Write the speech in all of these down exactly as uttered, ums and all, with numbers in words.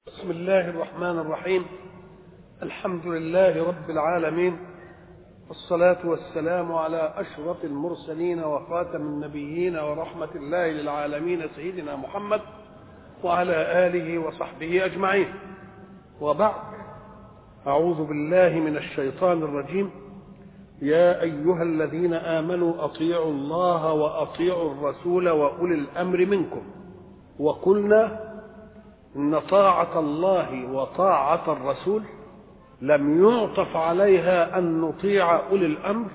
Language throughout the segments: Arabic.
بسم الله الرحمن الرحيم. الحمد لله رب العالمين، والصلاة والسلام على أشرف المرسلين وخاتم النبيين ورحمة الله للعالمين سيدنا محمد وعلى آله وصحبه أجمعين، وبعد. أعوذ بالله من الشيطان الرجيم. يا أيها الذين آمنوا أطيعوا الله وأطيعوا الرسول وأولي الأمر منكم. وقلنا إن طاعة الله وطاعة الرسول لم يعطف عليها أن نطيع أولي الأمر،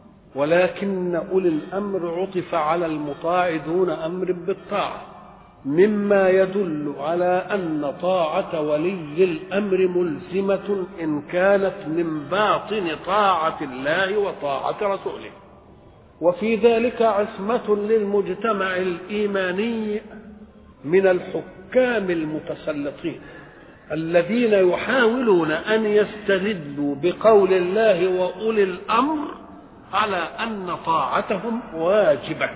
ولكن أولي الأمر عطف على المطاع دون أمر بالطاعة، مما يدل على أن طاعة ولي الأمر ملزمة إن كانت من باطن طاعة الله وطاعة رسوله. وفي ذلك عصمة للمجتمع الإيماني من الحكام المتسلطين الذين يحاولون أن يستدلوا بقول الله وأولي الأمر على أن طاعتهم واجبة،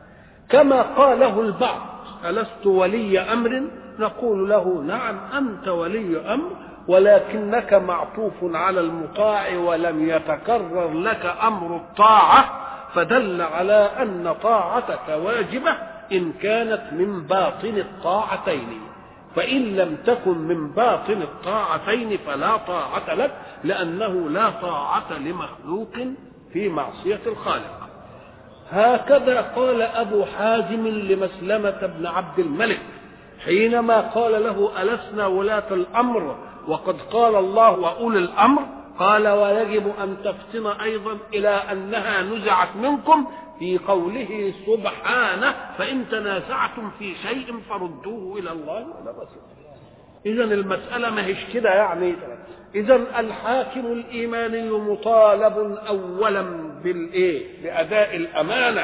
كما قاله البعض: ألست ولي أمر؟ نقول له: نعم، أنت ولي أمر، ولكنك معطوف على المطاع ولم يتكرر لك أمر الطاعة، فدل على أن طاعتك واجبة إن كانت من باطن الطاعتين. فإن لم تكن من باطن الطاعتين فلا طاعة لك، لأنه لا طاعة لمخلوق في معصية الخالق. هكذا قال أبو حازم لمسلمة بن عبد الملك حينما قال له: ألسنا ولاة الأمر وقد قال الله وأولي الأمر؟ قال: ويجب أن تفتن أيضا إلى أنها نزعت منكم في قوله سبحانه: فإن تنازعتم في شيء فردوه إلى الله وإلى الرسول. إذن المسألة ما هيش كده يعني. إذن الحاكم الإيماني مطالب أولا بالإيه؟ بأداء الأمانة،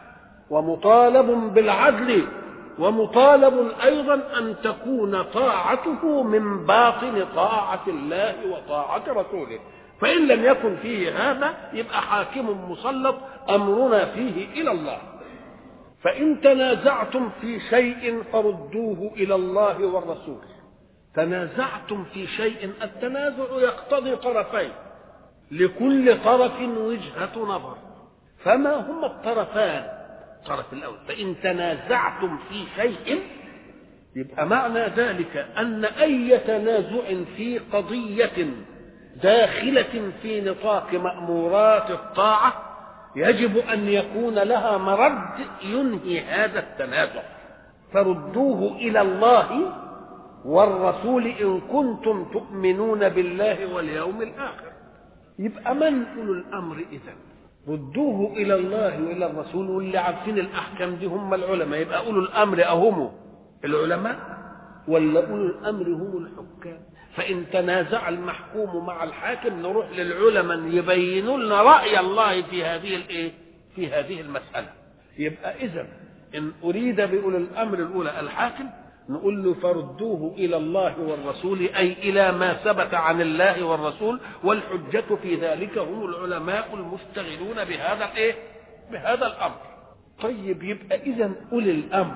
ومطالب بالعدل، ومطالب أيضا أن تكون طاعته من باطن طاعة الله وطاعة رسوله. فإن لم يكن فيه هذا يبقى حاكم مسلط أمرنا فيه إلى الله. فإن تنازعتم في شيء فردوه إلى الله والرسول. تنازعتم في شيء، التنازع يقتضي طرفين، لكل طرف وجهة نظر. فما هما الطرفان؟ الطرف الأول: فإن تنازعتم في شيء، يبقى معنى ذلك أن أي تنازع في قضية داخلة في نطاق مأمورات الطاعة يجب أن يكون لها مرد ينهي هذا التنازع. فردوه إلى الله والرسول إن كنتم تؤمنون بالله واليوم الآخر. يبقى من أولو الأمر إذن؟ ردوه إلى الله وإلى الرسول، واللي عارفين الأحكام دي هم العلماء. يبقى أولو الأمر أهم العلماء ولا أولو الأمر هم الحكام؟ فإن تنازع المحكوم مع الحاكم نروح للعلماء يبينوا لنا رأي الله في هذه الإيه؟ في هذه المسألة. يبقى إذن إن أريد بأولي الأمر الأولى الحاكم، نقول له: فردوه إلى الله والرسول، أي إلى ما ثبت عن الله والرسول، والحجة في ذلك هم العلماء المشتغلون بهذا الإيه؟ بهذا الأمر. طيب، يبقى إذن أولي الأمر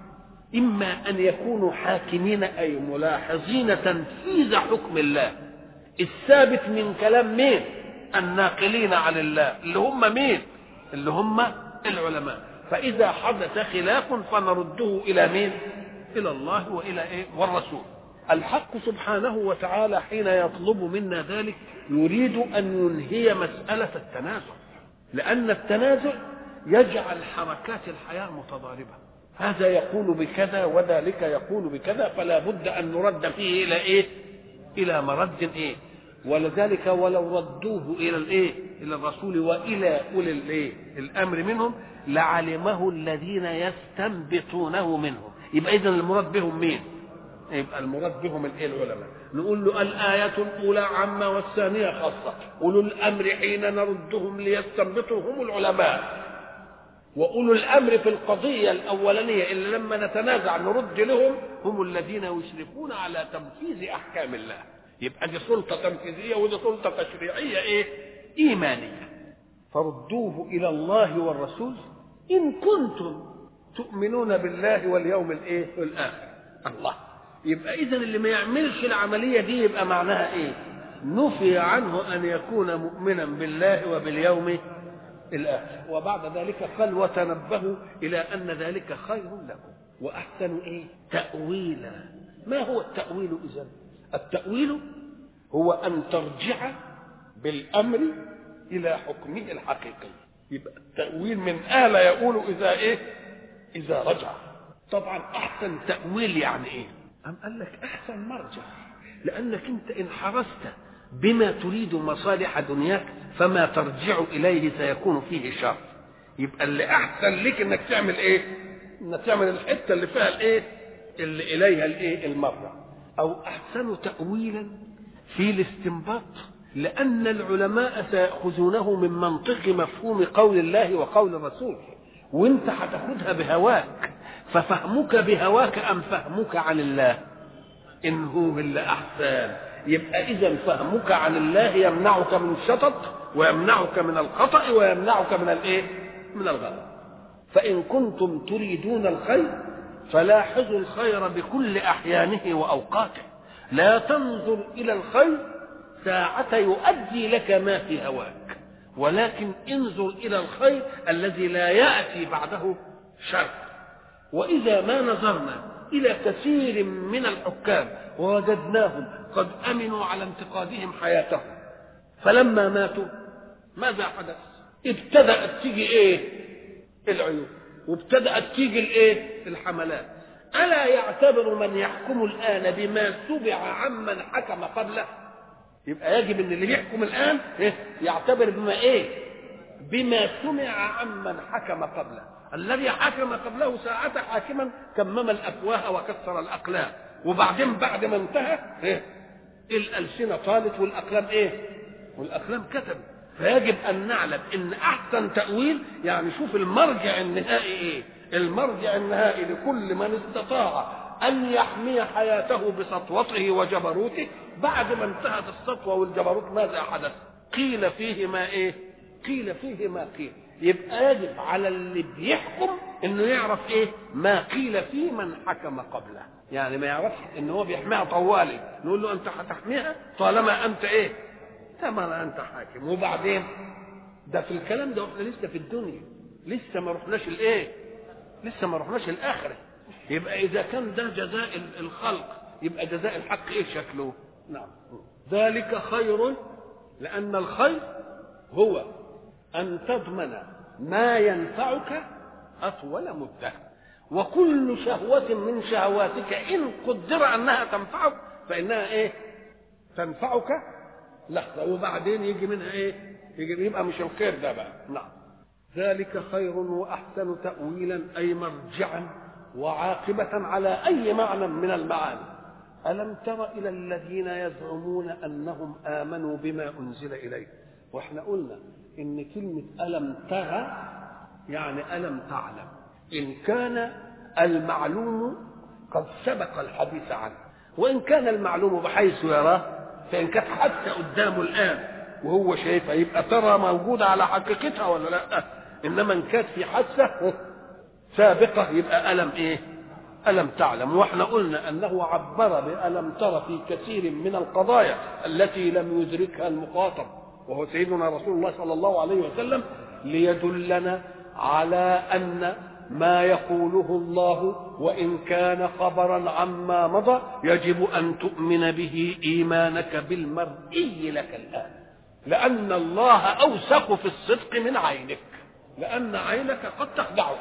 إما أن يكونوا حاكمين أي ملاحظين تنفيذ حكم الله الثابت من كلام مين؟ الناقلين عن الله، اللي هم مين؟ اللي هم العلماء. فإذا حدث خلاف فنرده إلى مين؟ إلى الله وإلى إيه؟ والرسول. الحق سبحانه وتعالى حين يطلب منا ذلك يريد أن ينهي مسألة التنازع، لأن التنازع يجعل حركات الحياة متضاربة، هذا يقول بكذا وذلك يقول بكذا، فلا بد أن نرد فيه إلى إيه؟ إلى مرد إيه؟ ولذلك ولو ردوه إلى الإيه؟ إلى الرسول وإلى أولي الإيه؟ الأمر منهم لعلمه الذين يستنبطونه منهم. يبقى إذن المراد بهم مين؟ يبقى المراد بهم الإيه؟ العلماء. نقول له: الآية الأولى عامة والثانية خاصة. أولو الأمر حين نردهم ليستنبطوا هم العلماء، وأولو الأمر في القضية الأولانية اللي لما نتنازع نرد لهم هم الذين يشرفون على تنفيذ أحكام الله. يبقى دي سلطة تنفيذية ودي سلطة تشريعية إيه؟ إيمانية. فردوه إلى الله والرسول إن كنتم تؤمنون بالله واليوم الإيه؟ الآخر. الله يبقى إذن اللي ما يعملش العملية دي يبقى معناها إيه؟ نفي عنه أن يكون مؤمنا بالله وباليوم الآخر. وبعد ذلك قال وتنبهوا إلى أن ذلك خير لكم وأحسن إيه؟ تأويلا. ما هو التأويل إذن؟ التأويل هو أن ترجع بالأمر إلى حكمه الحقيقي. يبقى التأويل من آل يقول إذا إيه؟ إذا رجع. طبعا أحسن تأويل يعني إيه؟ أم قال لك أحسن مرجع، لأنك أنت إن حرصت بما تريد مصالح دنياك فما ترجع إليه سيكون فيه شر. يبقى اللي أحسن لك إنك تعمل إيه؟ إنك تعمل الحتة اللي فيها الإيه؟ اللي إليها الإيه؟ المرجع. أو أحسن تأويلا في الاستنباط، لأن العلماء سيأخذونه من منطق مفهوم قول الله وقول الرسول، وانت هتاخدها بهواك، ففهمك بهواك أم فهمك عن الله إن هو اللي أحسن. يبقى إذا فهمك عن الله يمنعك من الشطط ويمنعك من الخطأ ويمنعك من الإيه؟ من الغلط. فإن كنتم تريدون الخير فلاحظوا الخير بكل أحيانه وأوقاته، لا تنظر إلى الخير ساعة يؤدي لك ما في هواك، ولكن انظر إلى الخير الذي لا يأتي بعده شر. وإذا ما نظرنا إلى كثير من الحكام ووجدناهم قد أمنوا على انتقادهم حياتهم، فلما ماتوا ماذا حدث؟ ابتدأت تيجي إيه؟ العيوب، وابتدأت تيجي الإيه؟ الحملات. ألا يعتبر من يحكم الآن بما سبع عمن حكم قبله؟ يبقى يجب ان اللي بيحكم الان يعتبر بما ايه؟ بما سمع عمن حكم قبله. الذي حكم قبله ساعة حاكما كمم الافواه وكسر الاقلام، وبعدين بعد ما انتهى إيه؟ الالسنه طالت والاقلام ايه؟ والاقلام كتبت. فيجب ان نعلم ان احسن تاويل يعني شوف المرجع النهائي ايه؟ المرجع النهائي لكل من استطاع أن يحمي حياته بسطوته وجبروته. بعد ما انتهت السطوة والجبروت ماذا حدث؟ قيل فيه ما إيه؟ قيل فيه ما قيل. يبقى يجب على اللي بيحكم إنه يعرف إيه؟ ما قيل فيه من حكم قبله. يعني ما يعرفش إن هو بيحميها طوالي، نقول له أنت هتحميها طالما أنت إيه؟ طالما أنت حاكم. وبعدين ده في الكلام ده واحنا لسه في الدنيا، لسه ما رحناش الإيه؟ لسه ما رحناش الآخرة. يبقى إذا كان ده جزاء الخلق يبقى جزاء الحق إيه شكله؟ نعم. ذلك خير، لأن الخير هو أن تضمن ما ينفعك أطول مدة، وكل شهوة من شهواتك إن قدر أنها تنفعك فإنها إيه؟ تنفعك لحظة، وبعدين يجي منها إيه؟ يجي يبقى مش الخير ده بقى. نعم. ذلك خير وأحسن تأويلا، أي مرجعا وعاقبة على أي معنى من المعاني. ألم تر إلى الذين يزعمون أنهم آمنوا بما أنزل إليك؟ وإحنا قلنا إن كلمة ألم تر يعني ألم تعلم، إن كان المعلوم قد سبق الحديث عنه، وإن كان المعلوم بحيث يراه، فإن كانت حتى قدامه الآن وهو شايفها يبقى ترى موجودة على حقيقتها ولا لا؟ إنما إن كانت في حادثة سابقة يبقى ألم إيه؟ ألم تعلم. وإحنا قلنا أنه عبر بألم ترى في كثير من القضايا التي لم يدركها المخاطب وهو سيدنا رسول الله صلى الله عليه وسلم، ليدلنا على أن ما يقوله الله وإن كان خبرا عما مضى يجب أن تؤمن به إيمانك بالمرئي لك الآن، لأن الله أوثق في الصدق من عينك، لأن عينك قد تخدعك.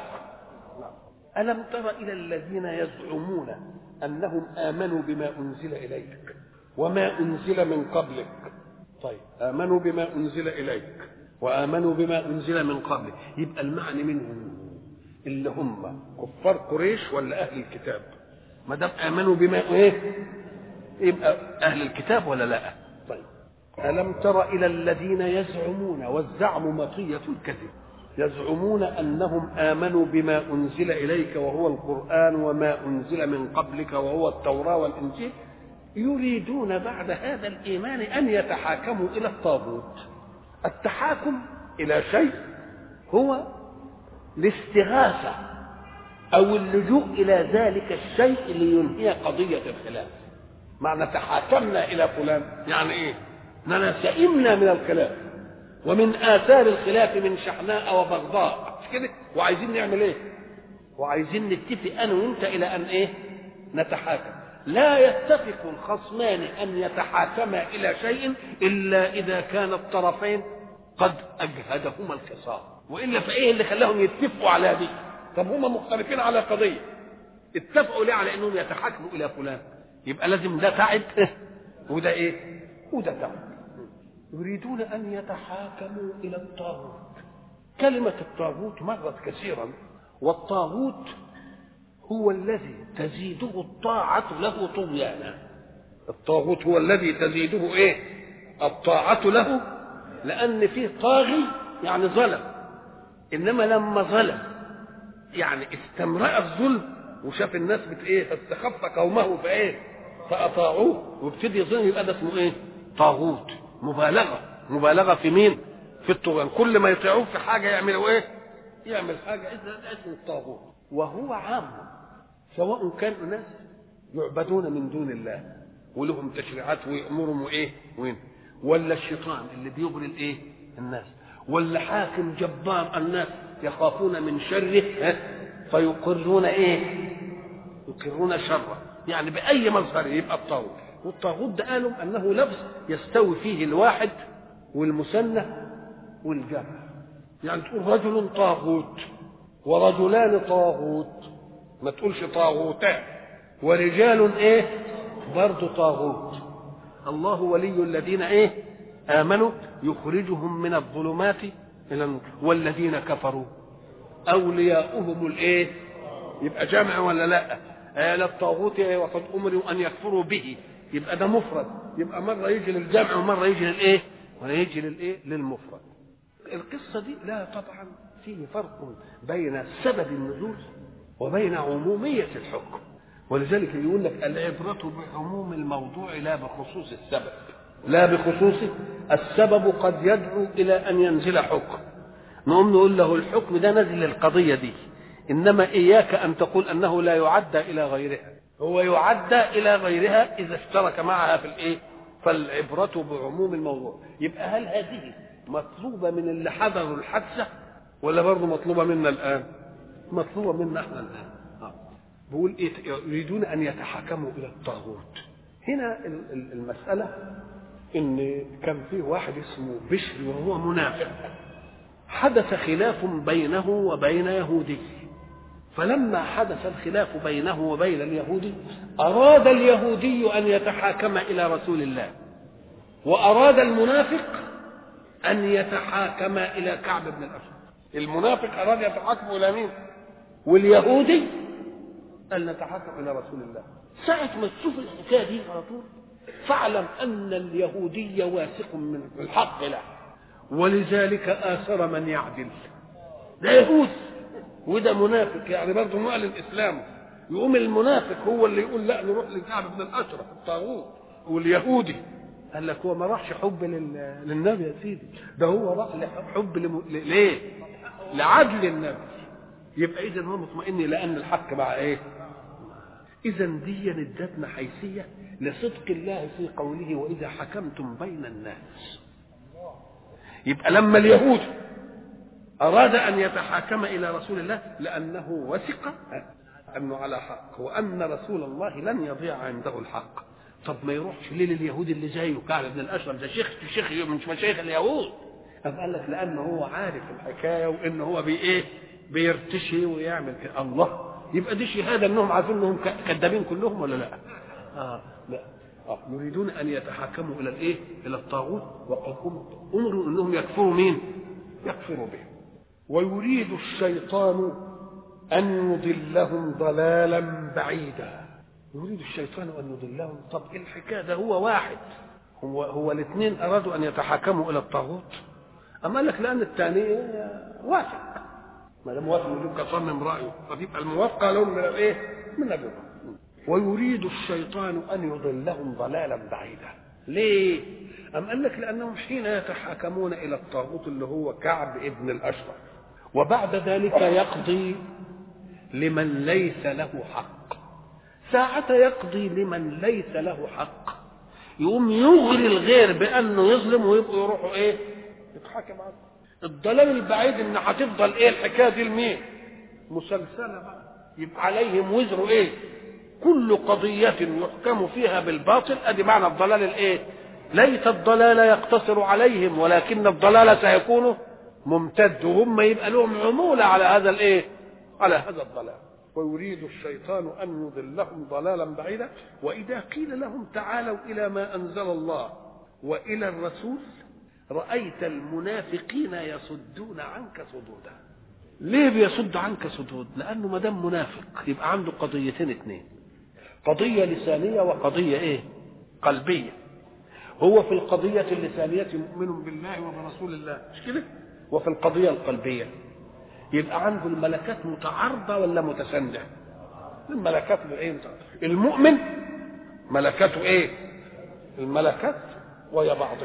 ألم تر إلى الذين يزعمون أنهم آمنوا بما أنزل إليك وما أنزل من قبلك؟ طيب، آمنوا بما أنزل إليك وآمنوا بما أنزل من قبلك، يبقى المعنى منهم اللي هم كفار قريش ولا أهل الكتاب؟ ما دام آمنوا بما إيه يبقى أهل الكتاب ولا لا؟ طيب، ألم تر إلى الذين يزعمون، والزعم مطية الكذب، يزعمون أنهم آمنوا بما أنزل إليك وهو القرآن وما أنزل من قبلك وهو التوراة والإنجيل، يريدون بعد هذا الإيمان أن يتحاكموا إلى الطاغوت. التحاكم إلى شيء هو الاستغاثة او اللجوء الى ذلك الشيء لينهي قضيه الخلاف. معنى تحاكمنا الى فلان يعني ايه؟ اننا سئمنا من الخلاف، ومن اثار الخلاف من شحناء وبغضاء، مش كده؟ وعايزين نعمل ايه؟ وعايزين نتفق انا وانت الى ان ايه؟ نتحاكم. لا يتفق الخصمان ان يتحاكما الى شيء الا اذا كان الطرفين قد اجهدهما الخصام، والا فايه اللي خلاهم يتفقوا على دي؟ طب هما مختلفين على قضيه، اتفقوا ليه على انهم يتحاكموا الى فلان؟ يبقى لازم ده تعب وده ايه؟ وده تعب. يريدون ان يتحاكموا الى الطاغوت. كلمه الطاغوت مرت كثيرا، والطاغوت هو الذي تزيده الطاعه له طغيانا. الطاغوت هو الذي تزيده ايه؟ الطاعه له، لان فيه طاغي يعني ظلم، انما لما ظلم يعني استمرأ الظلم وشاف الناس بت ايه؟ فاستخف قومه فايه؟ فاطاعوه وابتدي يظلم، يبقى ده اسمه ايه؟ طاغوت. مبالغه مبالغه في مين؟ في الطغيان. كل ما يطيعوه في حاجه يعملوا ايه؟ يعمل حاجه، اذا اسمه الطاغوت. وهو عام، سواء كانوا ناس يعبدون من دون الله ولهم تشريعات ويأمرهم وايه؟ وين؟ ولا الشيطان اللي بيغري الايه؟ الناس، ولا حاكم جبار الناس يخافون من شره فيقرون ايه؟ يقرون شره، يعني باي مظهر يبقى الطاغوت. والطاغوت ده قالوا انه لفظ يستوي فيه الواحد والمثنى والجمع. يعني تقول رجل طاغوت ورجلان طاغوت، ما تقولش طاغوتان. ورجال ايه؟ برضه طاغوت. الله ولي الذين ايه؟ امنوا يخرجهم من الظلمات الى النور، والذين كفروا اولياؤهم الايه؟ يبقى جمع ولا لا؟ آل الطاغوت وقد امروا ان يكفروا به، يبقى ده مفرد، يبقى مره يجي للجمع ومره يجي للايه؟ ويجي للايه؟ للمفرد. القصه دي لا طبعا فيه فرق بين سبب النزول وبين عموميه الحكم، ولذلك يقول لك العبره بعموم الموضوع لا بخصوص السبب. لا بخصوص السبب قد يدعو الى ان ينزل حكم، نقوم نقول له الحكم ده نزل للقضيه دي، انما اياك ان تقول انه لا يعدى الى غيرها، هو يعدى الى غيرها اذا اشترك معها في الايه؟ فالعبره بعموم الموضوع. يبقى هل هذه مطلوبه من اللي حضروا الحادثه ولا برضه مطلوبه منا الان؟ مطلوبه منا احنا الان. بقول ايه؟ يريدون ان يتحاكموا الى الطاغوت. هنا المساله ان كان فيه واحد اسمه بشر وهو منافق، حدث خلاف بينه وبين يهودي، فلما حدث الخلاف بينه وبين اليهودي أراد اليهودي أن يتحاكم إلى رسول الله، وأراد المنافق أن يتحاكم إلى كعب بن الأشرف. المنافق أراد يتحاكم إلى مين؟ واليهودي أن نتحاكم إلى رسول الله. ساعة ما تشوف الحكاية دي على طول فاعلم أن اليهودي واثق من الحق له، ولذلك آثر من يعدل. ده يهود وده منافق، يعني برضه معلن اسلامه، يقوم المنافق هو اللي يقول لا نروح لكعب بن الاشرف الطاغوت، واليهودي قال لك هو ما راحش حب لل... للنبي يا سيدي، ده هو راح حب لم... ل... ليه؟ لعدل النبي. يبقى اذا هو مطمئن لان الحق مع ايه؟ اذا دي ادتنا حيثيه لصدق الله في قوله واذا حكمتم بين الناس. يبقى لما اليهود أراد أن يتحاكم إلى رسول الله لأنه وثق أنه على حق وأن رسول الله لن يضيع عنده الحق. طب ما يروحش ليه لليهود اللي زيه كعب بن الأشرف؟ ده شيخ شيخ من مشايخ اليهود. أم قال لك لأنه هو عارف الحكاية وإنه هو بي إيه؟ بيرتشي ويعمل كده. الله، يبقى دي شهادة أنهم عارفين أنهم كذابين كلهم ولا لا؟ آه لا. آه. يريدون أن يتحاكموا إلى الإيه؟ إلى الطاغوت وقد أمروا أنهم يكفروا مين؟ يكفروا به. ويريد الشيطان أن يضلهم ضلالا بعيدا. يريد الشيطان أن يضلهم. طب الحكاية ده هو واحد، هو هو الاثنين أرادوا أن يتحاكموا إلى الطاغوت. أما لك لأن الثاني وافق، ما دام وافق يجب كصمم رأيه، فتبقى الموافقة لهم من الإيه؟ من الرضا. ويريد الشيطان أن يضلهم ضلالا بعيدا. ليه؟ أم قال لك لأنهم حين يتحاكمون إلى الطاغوت اللي هو كعب ابن الأشرف، وبعد ذلك يقضي لمن ليس له حق. ساعة يقضي لمن ليس له حق يقوم يغري الغير بأنه يظلم ويبقوا يروحوا ايه يتحاكم عنه. الضلال البعيد ان هتفضل ايه الحكايه دي لمين مسلسله بقى، يبقى عليهم وزر ايه كل قضيه يحكم فيها بالباطل. ادي معنى الضلال الايه. ليس الضلال يقتصر عليهم ولكن الضلال سيكون ممتد وهم يبقى لهم عموله على هذا الايه على هذا الضلال. ويريد الشيطان ان يضلهم ضلالا بعيدا. واذا قيل لهم تعالوا الى ما انزل الله والى الرسول رايت المنافقين يصدون عنك صدودا. ليه بيصد عنك صدود؟ لانه ما دام منافق يبقى عنده قضيتين اثنين، قضيه لسانيه وقضيه ايه قلبيه. هو في القضيه اللسانيه مؤمن بالله وبرسول الله مش كده، وفي القضيه القلبيه يبقى عنده الملكات متعارضه ولا متسانده؟ الملكات ايه متعارضه. المؤمن ملكاته ايه الملكات ويا بعضها،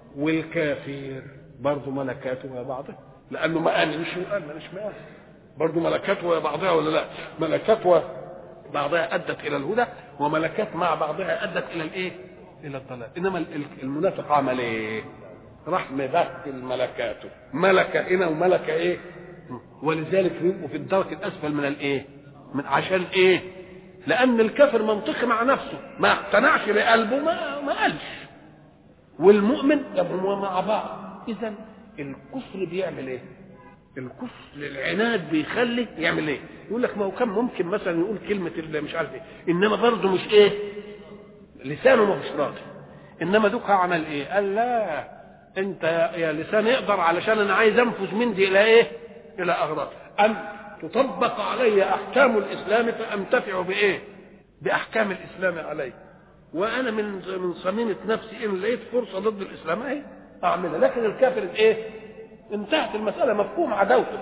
والكافر برضه ملكاته ويا بعضها لانه ما امنش وقال مانيش مآمن برضه ملكاته ويا بعضها ولا لا؟ ملكات وبعضها ادت الى الهدى وملكات مع بعضها ادت الى الايه الى الضلال. انما المنافق عمل ايه؟ راح مبدل ملكاته، ملكه هنا وملكه ايه. ولذلك بيبقوا في الدرك الاسفل من الايه من عشان ايه؟ لان الكافر منطقي مع نفسه ما اقتنعش بقلبه ما ما قالش، والمؤمن يبقوا مع بعض. اذا الكفر بيعمل ايه؟ الكفر العناد بيخلي يعمل ايه؟ يقول لك ما هو كان ممكن مثلا يقول كلمه اللي مش عارف ايه انما برضه مش ايه لسانه مش راضي. انما دوك عمل ايه؟ قال لا انت يا لسان اقدر علشان انا عايز انفذ من دي الى ايه الى اغراض ان تطبق علي احكام الاسلام فانتفع بايه باحكام الاسلام علي. وانا من من صميمه نفسي ان لقيت فرصه ضد الاسلام اهي اعملها. لكن الكافر ايه انتهت المساله مفهوم عداوته.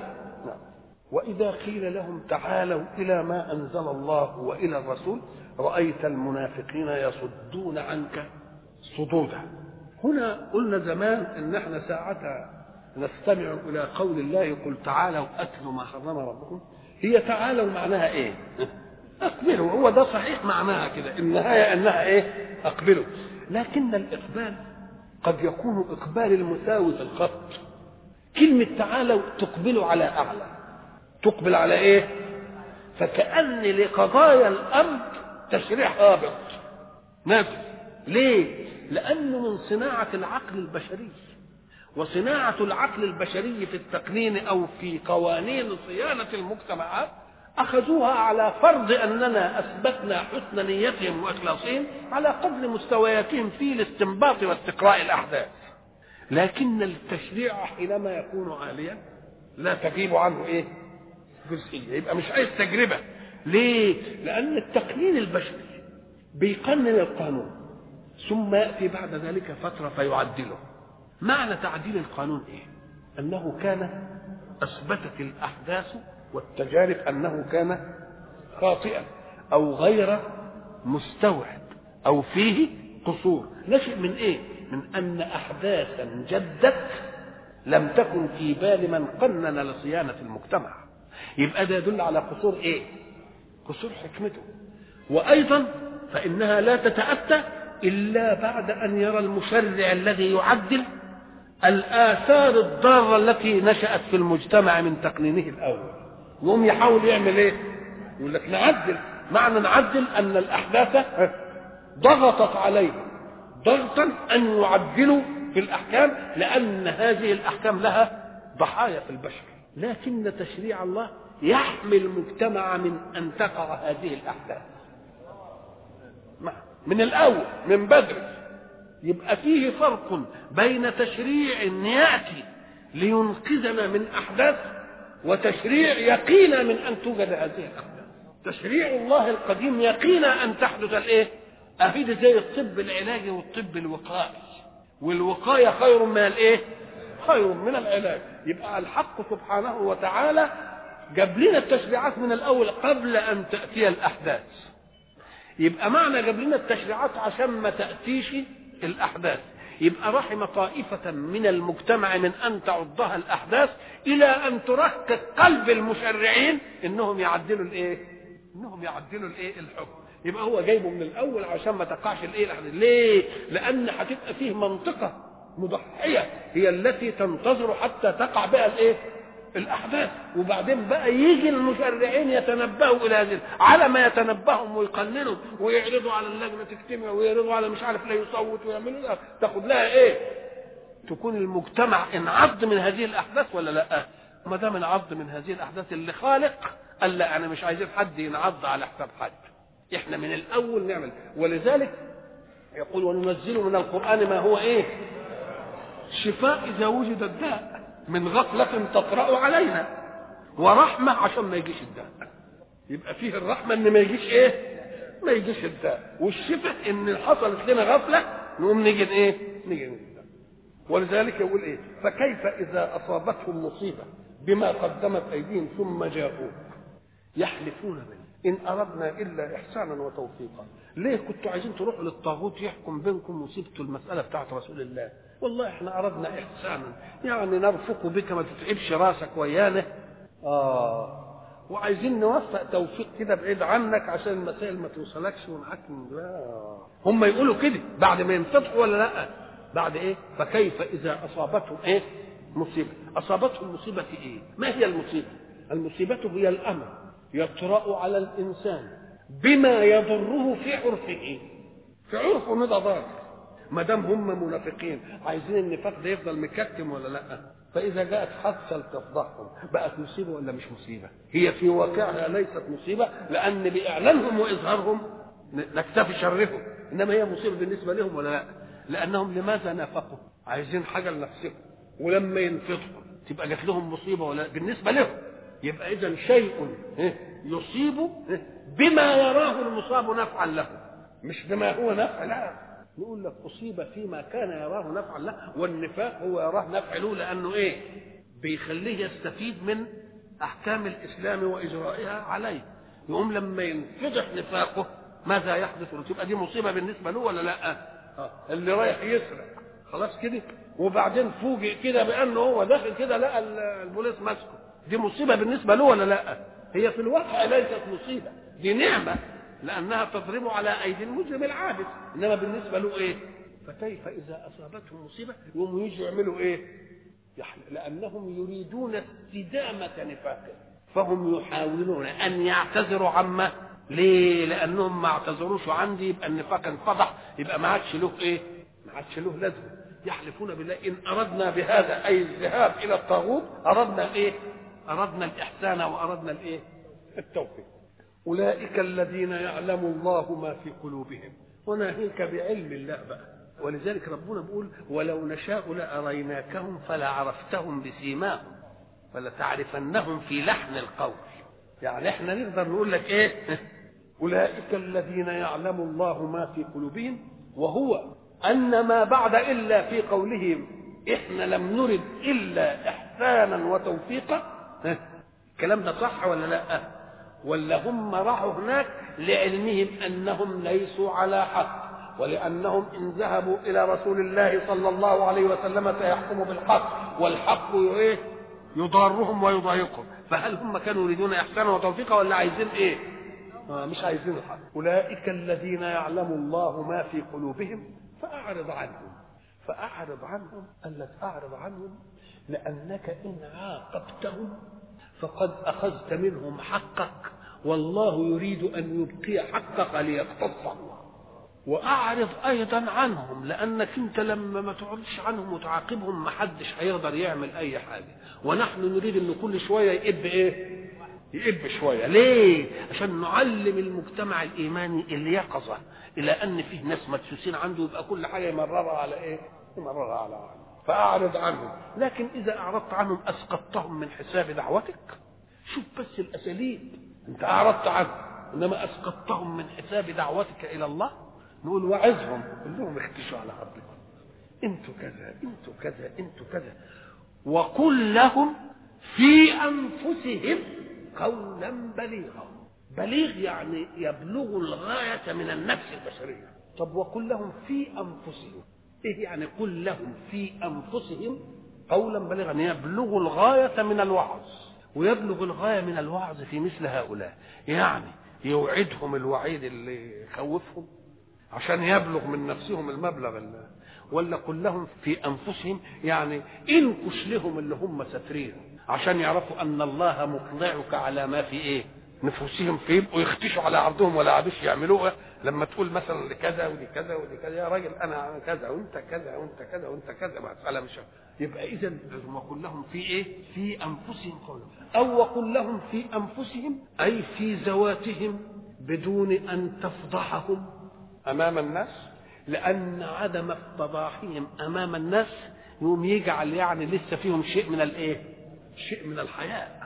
واذا قيل لهم تعالوا الى ما انزل الله والى الرسول رايت المنافقين يصدون عنك صدودا. هنا قلنا زمان ان احنا ساعتها نستمع الى قول الله قل تعالوا اتلوا ما حرم ربكم. هي تعالوا معناها ايه؟ اقبلوا. هو ده صحيح معناها كده النهايه انها ايه اقبلوا. لكن الاقبال قد يكون اقبال المساوي في الخط. كلمه تعالوا تقبلوا على اعلى، تقبل على ايه؟ فكأن لقضايا الارض تشريع هابط نافذ. ليه؟ لانه من صناعه العقل البشري، وصناعه العقل البشري في التقنين او في قوانين صيانه المجتمعات اخذوها على فرض اننا اثبتنا حسن نيتهم واخلاصهم على قدر مستوياتهم في الاستنباط واستقراء الاحداث. لكن التشريع حينما يكون عاليا لا تغيب عنه ايه جزئيه، يبقى مش عايز تجربه. ليه؟ لان التقنين البشري بيقنن القانون ثم ياتي بعد ذلك فتره فيعدله. معنى تعديل القانون ايه؟ انه كان اثبتت الاحداث والتجارب انه كان خاطئا او غير مستوعب او فيه قصور. نشئ من ايه؟ من ان احداثا جدت لم تكن في بال من قنن لصيانه المجتمع. يبقى ده يدل على قصور ايه؟ قصور حكمته. وايضا فانها لا تتاتى الا بعد ان يرى المشرع الذي يعدل الاثار الضاره التي نشات في المجتمع من تقنينه الاول، يقوم يحاول يعمل ايه؟ يقول لك نعدل. معنى نعدل ان الاحداث ضغطت عليه ضغطا ان يعدلوا في الاحكام لان هذه الاحكام لها ضحايا في البشر. لكن تشريع الله يحمي المجتمع من ان تقع هذه الاحداث من الاول من بدري. يبقى فيه فرق بين تشريع ياتي لينقذنا من احداث وتشريع يقينا من ان توجد هذه الاحداث. تشريع الله القديم يقينا ان تحدث الايه؟ افيد زي الطب العلاجي والطب الوقائي، والوقايه خير من الايه؟ خير من العلاج. يبقى الحق سبحانه وتعالى جاب لنا التشريعات من الاول قبل ان تاتي الاحداث. يبقى معنى جاب لنا التشريعات عشان ما تاتيش الاحداث. يبقى رحم طائفة من المجتمع من أن تعضها الأحداث إلى أن تركز قلب المشرعين إنهم يعدلوا الإيه؟ إنهم يعدلوا الإيه؟ الحكم. يبقى هو جايبه من الأول عشان ما تقعش الإيه؟ الأحداث. ليه؟ لأن هتبقى فيه منطقة مضحية هي التي تنتظر حتى تقع بها الإيه؟ الأحداث، وبعدين بقى يجي المشرعين يتنبهوا إلى هذه على ما يتنبههم ويقننوا ويعرضوا على اللجنة تجتمع ويعرضوا على مش عارف لا يصوت ويعملوا لها تاخد لها إيه؟ تكون المجتمع انعض من هذه الأحداث ولا لا؟ ما دام انعض من هذه الأحداث اللي خالق قال لا أنا مش عايزين حد ينعض على حساب حد، إحنا من الأول نعمل. ولذلك يقول وننزل من القرآن ما هو إيه؟ شفاء إذا وجد الداء من غفلة تطرأ علينا، ورحمة عشان ما يجيش الداء. يبقى فيه الرحمة ان ما يجيش ايه؟ ما يجيش الداء، والشفاء ان حصلت لنا غفلة نقوم نيجي ايه؟ نيجي الداء. ولذلك يقول ايه؟ فكيف اذا اصابتهم مصيبة بما قدمت ايديهم ثم جاءوك يحلفون بنا ان اردنا الا احسانا وتوفيقا. ليه كنتوا عايزين تروحوا للطاغوت يحكم بينكم وسبتوا المسألة بتاعت رسول الله؟ والله احنا اردنا احسانا، يعني نرفق بك ما تتعبش راسك ويانا، اه وعايزين نوفق توفيق كده بعيد عنك عشان المسائل ما توصلكش ونحكم. لا هم يقولوا كده بعد ما ينفتحوا ولا لا؟ بعد ايه؟ فكيف اذا اصابتهم ايه؟ مصيبه. اصابتهم مصيبه في ايه؟ ما هي المصيبه؟ المصيبه هي الامر يطرأ على الانسان بما يضره في عرفه. في عرفه ده ضار، ما دام هم منافقين عايزين النفاق ده يفضل مكتم ولا لا؟ فاذا جاءت حادثه تفضحهم بقت مصيبه ولا مش مصيبه؟ هي في واقعها ليست مصيبه، لان باعلانهم واظهارهم نكتفي شرهم، انما هي مصيبه بالنسبه لهم ولا لا؟ لانهم لماذا نافقوا؟ عايزين حاجه لنفسهم، ولما ينفتحوا تبقى جات لهم مصيبه ولا بالنسبه لهم؟ يبقى اذا شيء يصيب بما يراه المصاب نفعا له، مش بما هو نفع. لا، نقول لك أصيب فيما كان يراه نفعا له، والنفاق هو يراه نفع له لأنه إيه؟ بيخليه يستفيد من أحكام الإسلام وإجرائها عليه. يقوم لما ينفضح نفاقه ماذا يحدث له؟ تبقى دي مصيبة بالنسبة له ولا لا؟ آه. اللي رايح يسرق خلاص كده وبعدين فوجئ كده بأنه هو داخل كده لقى البوليس ماسكه، دي مصيبة بالنسبة له ولا لا؟ هي في الواقع ليست مصيبة، دي نعمة لأنها تضرب على أيدي المجرم العابث، إنما بالنسبة له إيه؟ فكيف إذا أصابتهم مصيبة يقوموا يجوا يعملوا إيه؟ لأنهم يريدون استدامة نفاقه، فهم يحاولون أن يعتذروا عما. ليه؟ لأنهم ما اعتذروش عندي يبقى النفاق انفضح، يبقى ما عادش له إيه؟ ما عادش له لازمة. يحلفون بالله إن أردنا بهذا أي الذهاب إلى الطاغوت أردنا إيه؟ أردنا الإحسان وأردنا الإيه؟ التوفيق. أولئك الذين يعلم الله ما في قلوبهم، وناهيك بعلم الله بقى. ولذلك ربنا بيقول ولو نشاء لأريناكهم فلعرفتهم بسيماهم فلتعرفنهم في لحن القول. يعني احنا نقدر نقول لك ايه؟ أولئك الذين يعلم الله ما في قلوبهم، وهو أن ما بعد إلا في قولهم احنا لم نرد إلا إحسانا وتوفيقا. الكلام ده صح ولا لا؟ ولا هم راحوا هناك لعلمهم أنهم ليسوا على حق، ولأنهم إن ذهبوا إلى رسول الله صلى الله عليه وسلم سيحكموا بالحق، والحق يضارهم ويضايقهم. فهل هم كانوا يريدون إحسانا وتوفيقا ولا عايزين إيه؟ آه مش عايزين الحق. أولئك الذين يعلم الله ما في قلوبهم فأعرض عنهم. فأعرض عنهم قال لك أعرض عنهم لأنك إن عاقبتهم فقد أخذت منهم حقك، والله يريد أن يبقي حقك ليقتص الله. وأعرض أيضا عنهم لأنك أنت لما ما تعرضش عنهم وتعاقبهم ما حدش هيقدر يعمل أي حاجة، ونحن نريد أن كل شوية يقب إيه؟ يقب شوية. ليه؟ عشان نعلم المجتمع الإيماني اليقظة إلى أن فيه ناس مدسوسين عنده، يبقى كل حاجة يمررها على إيه؟ يمررها على عنه. فأعرض عنهم. لكن إذا أعرضت عنهم أسقطتهم من حساب دعوتك. شوف بس الأساليب، أنت أعرضت عنهم إنما أسقطتهم من حساب دعوتك إلى الله. نقول وعظهم كلهم اختشوا على ربكم، أنتوا كذا أنتوا كذا أنتوا كذا، وقل لهم في أنفسهم قولا بليغا. بليغ يعني يبلغ الغاية من النفس البشرية. طب وقل لهم في أنفسهم، ايه يعني قل لهم في انفسهم قولا بليغا؟ يبلغ الغايه من الوعظ، ويبلغ الغايه من الوعظ في مثل هؤلاء، يعني يوعدهم الوعيد اللي يخوفهم عشان يبلغ من نفسهم المبلغ اللي، ولا قل لهم في انفسهم يعني انكش لهم اللي هم ساترين عشان يعرفوا ان الله مطلعك على ما في ايه نفوسهم، فيبقوا يختشوا على عرضهم ولا عادش يعملوها. لما تقول مثلا لكذا ولكذا ولكذا يا راجل انا كذا وانت كذا وانت كذا وانت كذا مساله مش، يبقى اذا وقل لهم في ايه في انفسهم قولا، او وقل لهم في انفسهم اي في ذواتهم بدون ان تفضحهم امام الناس، لان عدم افتضاحهم امام الناس يوم يجعل يعني لسه فيهم شيء من الايه شيء من الحياء.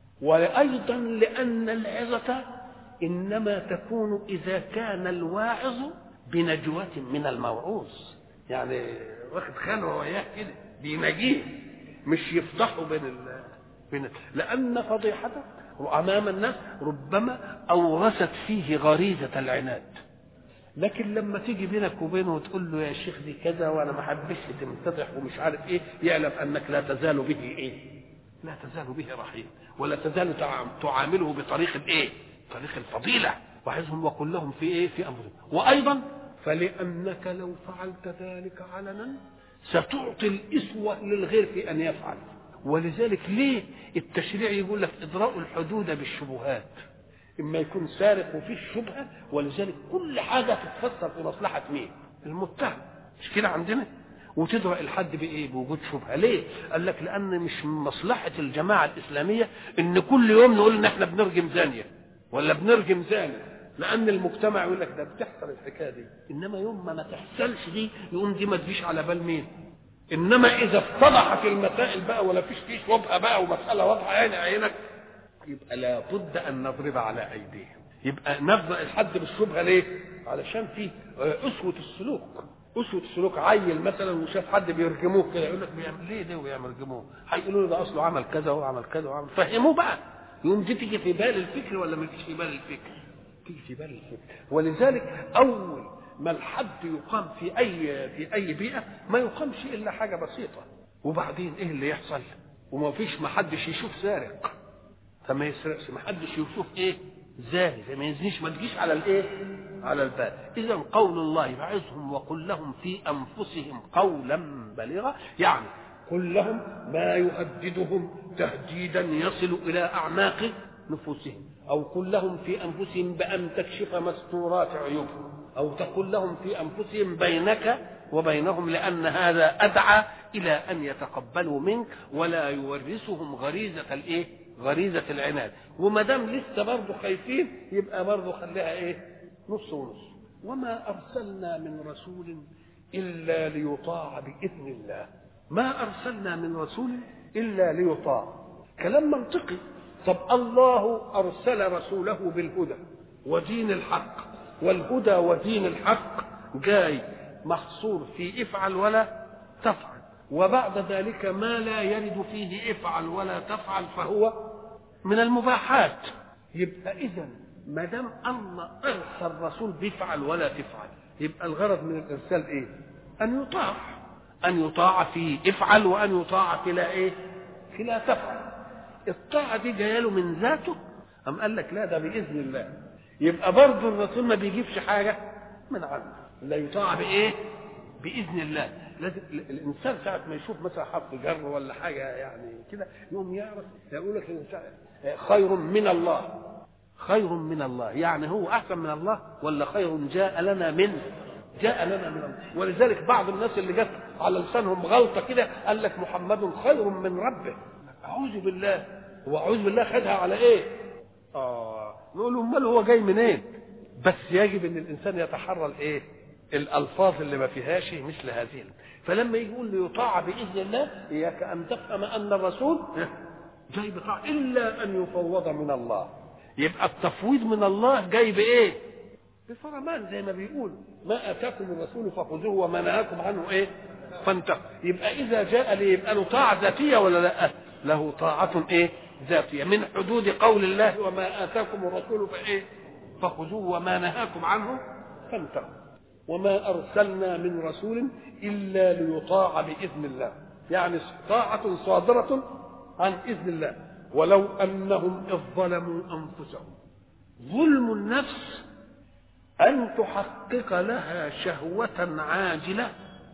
وايضا لان العظه انما تكون اذا كان الواعظ بنجوة من الموعوظ، يعني واخد خلوه وياه كده بينجيه، مش يفضحه بين ال... بين لان فضيحته امام الناس ربما اورثت فيه غريزه العناد. لكن لما تيجي بينك وبينه وتقول له يا شيخ دي كذا وانا ما حبش تمتدح ومش عارف ايه، يعلم انك لا تزال به ايه لا تزال به رحيم، ولا تزال تعامله بطريق الايه طريق الفضيله. وعظهم وقل لهم في ايه في انفسهم. وايضا فلانك لو فعلت ذلك علنا ستعطي الاسوه للغير في ان يفعل. ولذلك ليه التشريع يقول لك اضراء الحدود بالشبهات، اما يكون سارق وفيه الشبهه، ولذلك كل حاجه تتفسر في مصلحه مين المتهم، مش كده عندنا، وتدرأ الحد بايه بوجود شبهه. ليه؟ قال لك لان مش من مصلحه الجماعه الاسلاميه ان كل يوم نقول ان احنا بنرجم زانيه ولا بنرجم زاني، لان المجتمع يقول لك ده بتحصل الحكايه دي، انما يوم ما ما تحصلش دي يقوم دي ما تجيش على بال مين. انما اذا اتضحت المسائل بقى ولا فيش فيه شبهه بقى ومساله واضحه عين عينك، يبقى لابد ان نضرب على ايديهم. يبقى نبدا الحد بالشبهه ليه؟ علشان في اسوه السلوك. اسوه السلوك عيل مثلا وشاف حد بيرجموه كده يقول لك بيعمل ليه ده ويرجموه، هيقولوا له ده اصله عمل كذا وعمل كذا وعمل، فهموه بقى. يوم دي تيجي في بال الفكر ولا ما تجيش في بال الفكر؟ تيجي في بال الفكر. ولذلك اول ما الحد يقام في اي في اي بيئه ما يقامش الا حاجه بسيطه، وبعدين ايه اللي يحصل؟ وما فيش ما حدش يشوف سارق فما يسرقش، ما حدش يشوف ايه زاني فما يزنيش، ما تجيش على الايه على البال. اذا قول الله بعظهم وقل لهم في انفسهم قولا بليغا، يعني قل لهم ما يهددهم تهديدا يصل الى اعماق نفوسهم، او قل لهم في انفسهم بان تكشف مستورات عيوبهم، او تقول لهم في انفسهم بينك وبينهم، لان هذا ادعى الى ان يتقبلوا منك ولا يورثهم غريزه الايه غريزه العناد. وما دام لسه برضه خايفين يبقى برضه خليها ايه نص ونص. وما ارسلنا من رسول الا ليطاع باذن الله. ما ارسلنا من رسول الا ليطاع، كلام منطقي. طب الله ارسل رسوله بالهدى ودين الحق، والهدى ودين الحق جاي محصور في افعل ولا تفعل، وبعد ذلك ما لا يرد فيه افعل ولا تفعل فهو من المباحات. يبقى اذا ما دام الله ارسل رسول بيفعل ولا تفعل، يبقى الغرض من الارسال ايه؟ ان يطاع، ان يطاع في افعل وان يطاع في لا ايه في لا تفعل. الطاعه دي جايه له من ذاته ام قال لك لا ده باذن الله؟ يبقى برضه الرسول ما بيجيبش حاجه من عنده، لا يطاع بايه باذن الله. لازم الانسان ساعه ما يشوف مثلا حرف جر ولا حاجه يعني كده يقوم يعرف، يقول لك الانسان خير من الله، خير من الله يعني هو احسن من الله، ولا خير جاء لنا منه جاء لنا من الله. ولذلك بعض الناس اللي جت على لسانهم غلطه كده قال لك محمد خير من ربه. اعوذ بالله، هو اعوذ بالله خدها على ايه؟ اه نقول له امال هو جاي منين؟ بس يجب ان الانسان يتحرى الايه الالفاظ اللي ما فيهاش مثل هذه. فلما يقول ليطاع باذن الله اياك ان تفهم ان الرسول جاي بطاعه الا ان يفوض من الله. يبقى التفويض من الله جاي بايه؟ بفرمان، زي ما بيقول ما اتاكم الرسول فخذوه وما نهاكم عنه ايه فانتهوا. يبقى اذا جاء لي يبقى له طاعه ذاتيه ولا لا؟ له طاعه ايه ذاتيه من حدود قول الله وما اتاكم الرسول فايه فخذوه وما نهاكم عنه فانتهوا. وما أرسلنا من رسول إلا ليطاع بإذن الله، يعني طاعة صادرة عن إذن الله. ولو أنهم إذ ظلموا أنفسهم. ظلم النفس أن تحقق لها شهوة عاجلة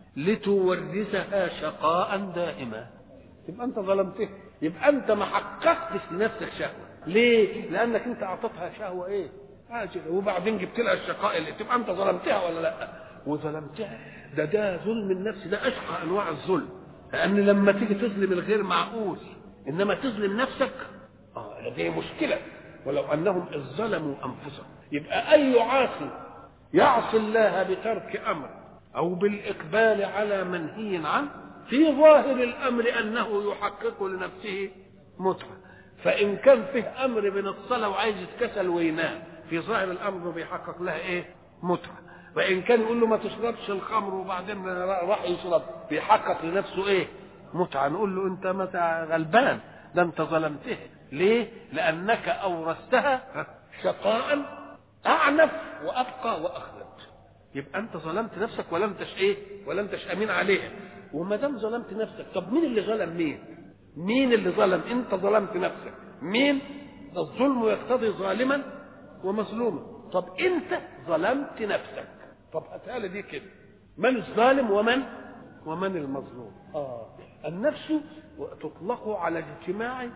لتورثها شقاء دائما. يبقى أنت ظلمته، يبقى أنت ما حققتش لنفسك شهوة. ليه؟ لأنك أنت أعطتها شهوة إيه؟ عاجلة، وبعدين جبت لها الشقاء اللي تبقى أنت ظلمتها ولا لا؟ وظلمتها. ده ده ظلم النفس، ده أشقى أنواع الظلم. لأن لما تيجي تظلم الغير معقول، إنما تظلم نفسك آه دي مشكلة. ولو أنهم إذ ظلموا أنفسهم. يبقى أي عاصي يعصي الله بترك أمر أو بالإقبال على منهي عنه، في ظاهر الأمر أنه يحقق لنفسه متعة. فإن كان فيه أمر من الصلاة وعايز يتكسل وينام، في ظاهر الأمر بيحقق لها إيه؟ متعة. وإن كان يقول له ما تشربش الخمر وبعدين راح يشرب، بيحقق لنفسه إيه؟ متعة. نقول له أنت متى غلبان، ده أنت ظلمته. ليه؟ لأنك أورثتها شقاء أعنف وأبقى وأخلد. يبقى أنت ظلمت نفسك ولم تش إيه؟ ولم تش أمين عليها. وما دام ظلمت نفسك، طب مين اللي ظلم مين؟ مين اللي ظلم؟ أنت ظلمت نفسك. مين؟ الظلم يقتضي ظالما ومظلوما. طب أنت ظلمت نفسك. طب هتقال دي كده، من الظالم ومن ومن المظلوم؟ آه النفس تطلق على اجتماع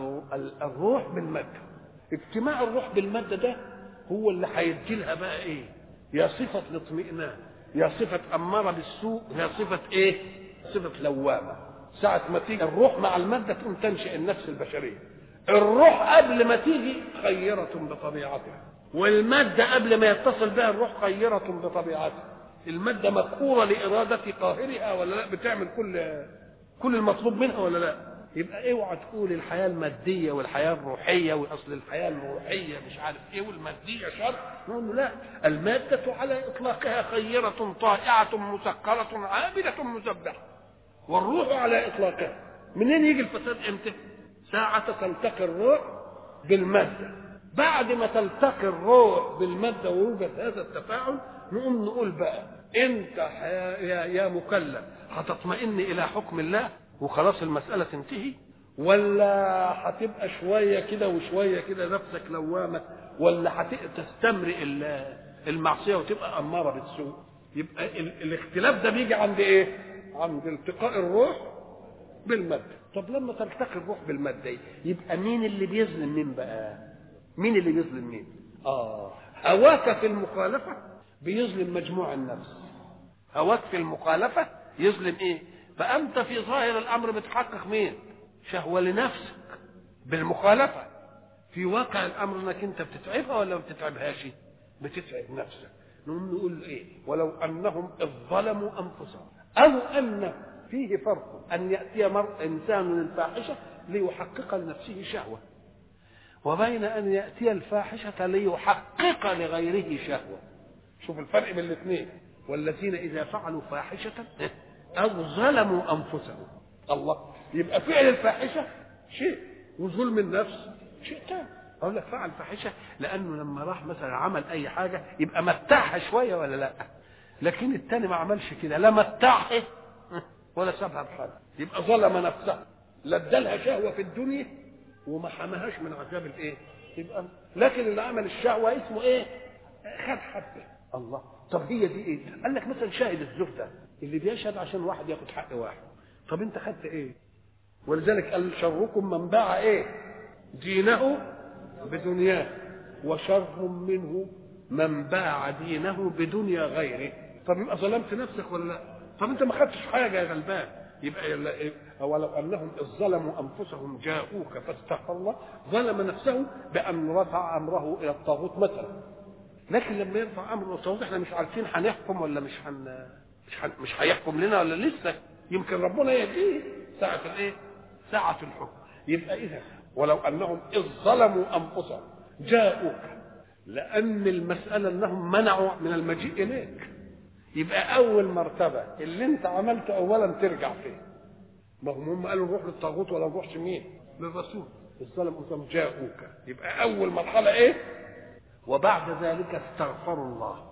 الروح بالمادة. اجتماع الروح بالمادة ده هو اللي هيدي لها بقى ايه؟ يا صفة الاطمئنان، يا صفة أمارة بالسوء، يا صفة ايه؟ صفة لوامة. ساعة ما تيجي الروح مع المادة تقوم تنشئ النفس البشرية. الروح قبل ما تيجي خيرة بطبيعتها، والمادة قبل ما يتصل بها الروح خيرة بطبيعتها. المادة مقهورة لإرادة قاهرها ولا لا؟ بتعمل كل كل المطلوب منها ولا لا؟ يبقى اوعى تقول الحياه الماديه والحياه الروحيه، واصل الحياه الروحيه مش عارف ايه والماديه شر. نقول له لا، الماده على اطلاقها خيره طائعه مسكره عابده مسبحه، والروح على اطلاقها. منين يجي الفساد؟ امتى؟ ساعه تلتقي الروح بالماده. بعد ما تلتقي الروح بالماده ويوجد هذا التفاعل، نقوم نقول بقى انت يا يا مكلف هتطمئن الى حكم الله وخلاص المسألة تنتهي، ولا هتبقى شوية كده وشوية كده نفسك لوامة، ولا هتستمرئ المعصية وتبقى أمارة بالسوء؟ يبقى الاختلاف ده بيجي عند ايه؟ عند التقاء الروح بالمادة. طب لما تلتقي الروح بالمادة يبقى مين اللي بيظلم مين بقى؟ مين اللي بيظلم مين؟ اه هواك في المخالفة بيظلم مجموع النفس. هواك في المخالفة يظلم ايه؟ فأنت في ظاهر الأمر بتحقق مين؟ شهوة لنفسك بالمخالفة. في واقع الأمر أنك أنت بتتعبها ولا ما بتتعبهاش؟ بتتعب نفسك. نقوم نقول إيه؟ ولو أنهم إذ ظلموا أنفسهم. أو أن فيه فرق أن يأتي مر إنسان الفاحشة ليحقق لنفسه شهوة، وبين أن يأتي الفاحشة ليحقق لغيره شهوة. شوف الفرق بين الاثنين. والذين إذا فعلوا فاحشة أو ظلموا أنفسهم. الله، يبقى فعل الفاحشة شيء وظلم النفس شيء ثاني. أقول لك فعل فاحشة لأنه لما راح مثلا عمل أي حاجة يبقى متعها شوية ولا لا؟ لكن الثاني ما عملش كده، لا متعها ولا سابها بحالها، يبقى ظلم نفسها. لا ادالها شهوة في الدنيا وما حماهاش من عذاب الايه؟ يبقى لكن اللي عمل الشهوة اسمه ايه؟ خد حبه. الله، طب هي دي ايه؟ قال لك مثلا شاهد الزور ده اللي بيشهد عشان واحد ياخد حق واحد. طب انت خدت ايه؟ ولذلك قال شركم من باع ايه؟ دينه بدنياه، وشر منه من باع دينه بدنيا غيره. طب يبقى ظلمت نفسك ولا لا؟ طب انت ما خدتش حاجه يا غلبان. يبقى ولو انهم اذ ظلموا انفسهم جاءوك فاستغفر الله، ظلم نفسه بان رفع امره الى الطاغوت مثلا. لكن لما يرفع امره الى الطاغوت احنا مش عارفين هنحكم ولا مش هن مش هن... مش هيحكم لنا ولا لسه، يمكن ربنا يهديه ساعه الايه؟ ساعه الحكم. يبقى اذا ولو انهم اذ ظلموا انفسهم جاءوك، لان المساله انهم منعوا من المجيء اليك. يبقى اول مرتبه اللي انت عملته اولا ترجع فيه. ما هم هم قالوا نروح للطاغوت ولا نروحش مين؟ للرسول. الظلم انهم جاءوك، يبقى اول مرحله ايه؟ وبعد ذلك استغفروا الله.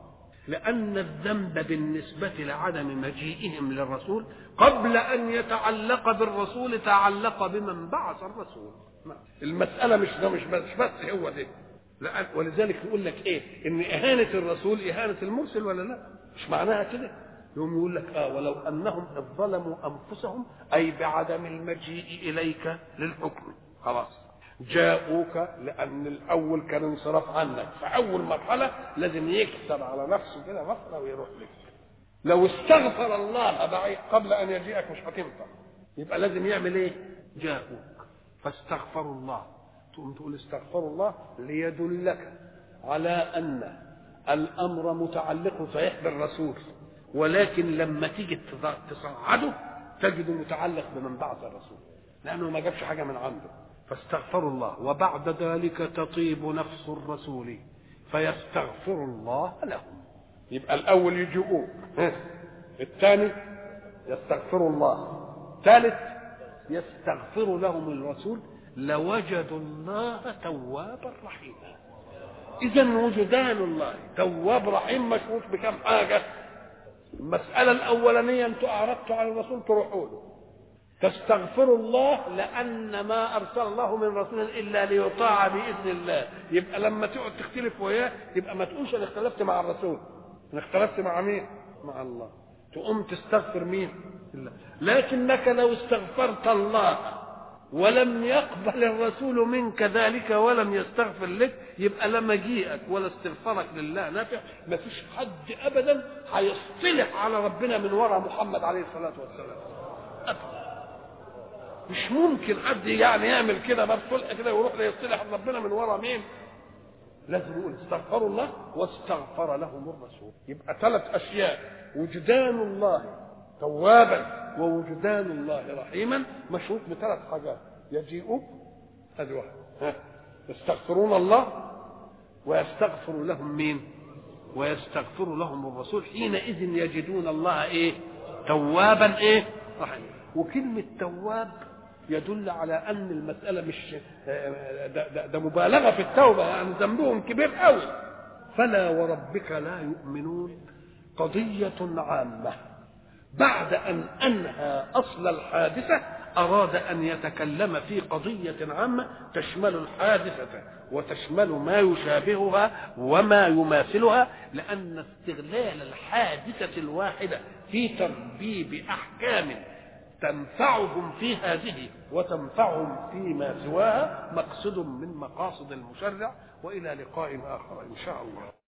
لأن الذنب بالنسبة لعدم مجيئهم للرسول قبل أن يتعلق بالرسول تعلق بمن بعث الرسول. المسألة مش ده مش بس, بس هو ده، ولذلك يقول لك ايه؟ ان اهانة الرسول اهانة المرسل ولا لا؟ مش معناها كده. يوم يقول لك اه ولو انهم اذ ظلموا انفسهم اي بعدم المجيء اليك للحكم خلاص جاءوك، لان الاول كان انصراف عنك، فاول مرحله لازم يكسر على نفسه كده مصر ويروح لك. لو استغفر الله بعيد قبل ان يجيئك مش هتنفع، يبقى لازم يعمل ايه؟ جاءوك فاستغفروا الله. تقوم تقول استغفروا الله ليدلك على ان الامر متعلق صحيح بالرسول، ولكن لما تيجي تصعده تجد متعلق بمن بعث الرسول، لانه ما جابش حاجه من عنده. فاستغفروا الله وبعد ذلك تطيب نفس الرسول فيستغفر الله لهم. يبقى الاول يجيئوك، الثاني يستغفر الله، ثالث يستغفر لهم الرسول لوجدوا الله توابا رحيما. اذا وجدان الله تواب رحيم مشروط بكم حاجه. المساله الاولانيه انتوا اعرضتوا على الرسول تروحوا له، تستغفروا الله لان ما ارسل الله من رسول الا ليطاع باذن الله. يبقى لما تقعد تختلف وياه يبقى ما تقولش انا اختلفت مع الرسول، انا اختلفت مع مين؟ مع الله. تقوم تستغفر مين؟ الله. لكنك لو استغفرت الله ولم يقبل الرسول منك ذلك ولم يستغفر لك يبقى لا مجيئك ولا استغفارك لله نافع. ما فيش حد ابدا هيصطلح على ربنا من وراء محمد عليه الصلاه والسلام أبدا. مش ممكن حد يعني يعمل كده بصلح كده ويروح يصطلح ربنا من وراء مين؟ لازم يقول استغفروا الله واستغفر لهم الرسول. يبقى ثلاث اشياء: وجدان الله توابا ووجدان الله رحيما مشروط بثلاث حاجات: يجيئوا هذه واحده، يستغفرون الله ويستغفر لهم مين؟ ويستغفر لهم الرسول. حينئذ يجدون الله ايه؟ توابا ايه؟ رحيما. وكلمه تواب يدل على ان المساله مش ده, ده, ده مبالغه في التوبه، يعني ذنبهم كبير قوي. فلا وربك لا يؤمنون قضيه عامه. بعد أن أنهى أصل الحادثة أراد أن يتكلم في قضية عامة تشمل الحادثة وتشمل ما يشابهها وما يماثلها، لأن استغلال الحادثة الواحدة في تربيب أحكام تنفعهم في هذه وتنفعهم فيما سواها مقصد من مقاصد المشرع. وإلى لقاء آخر إن شاء الله.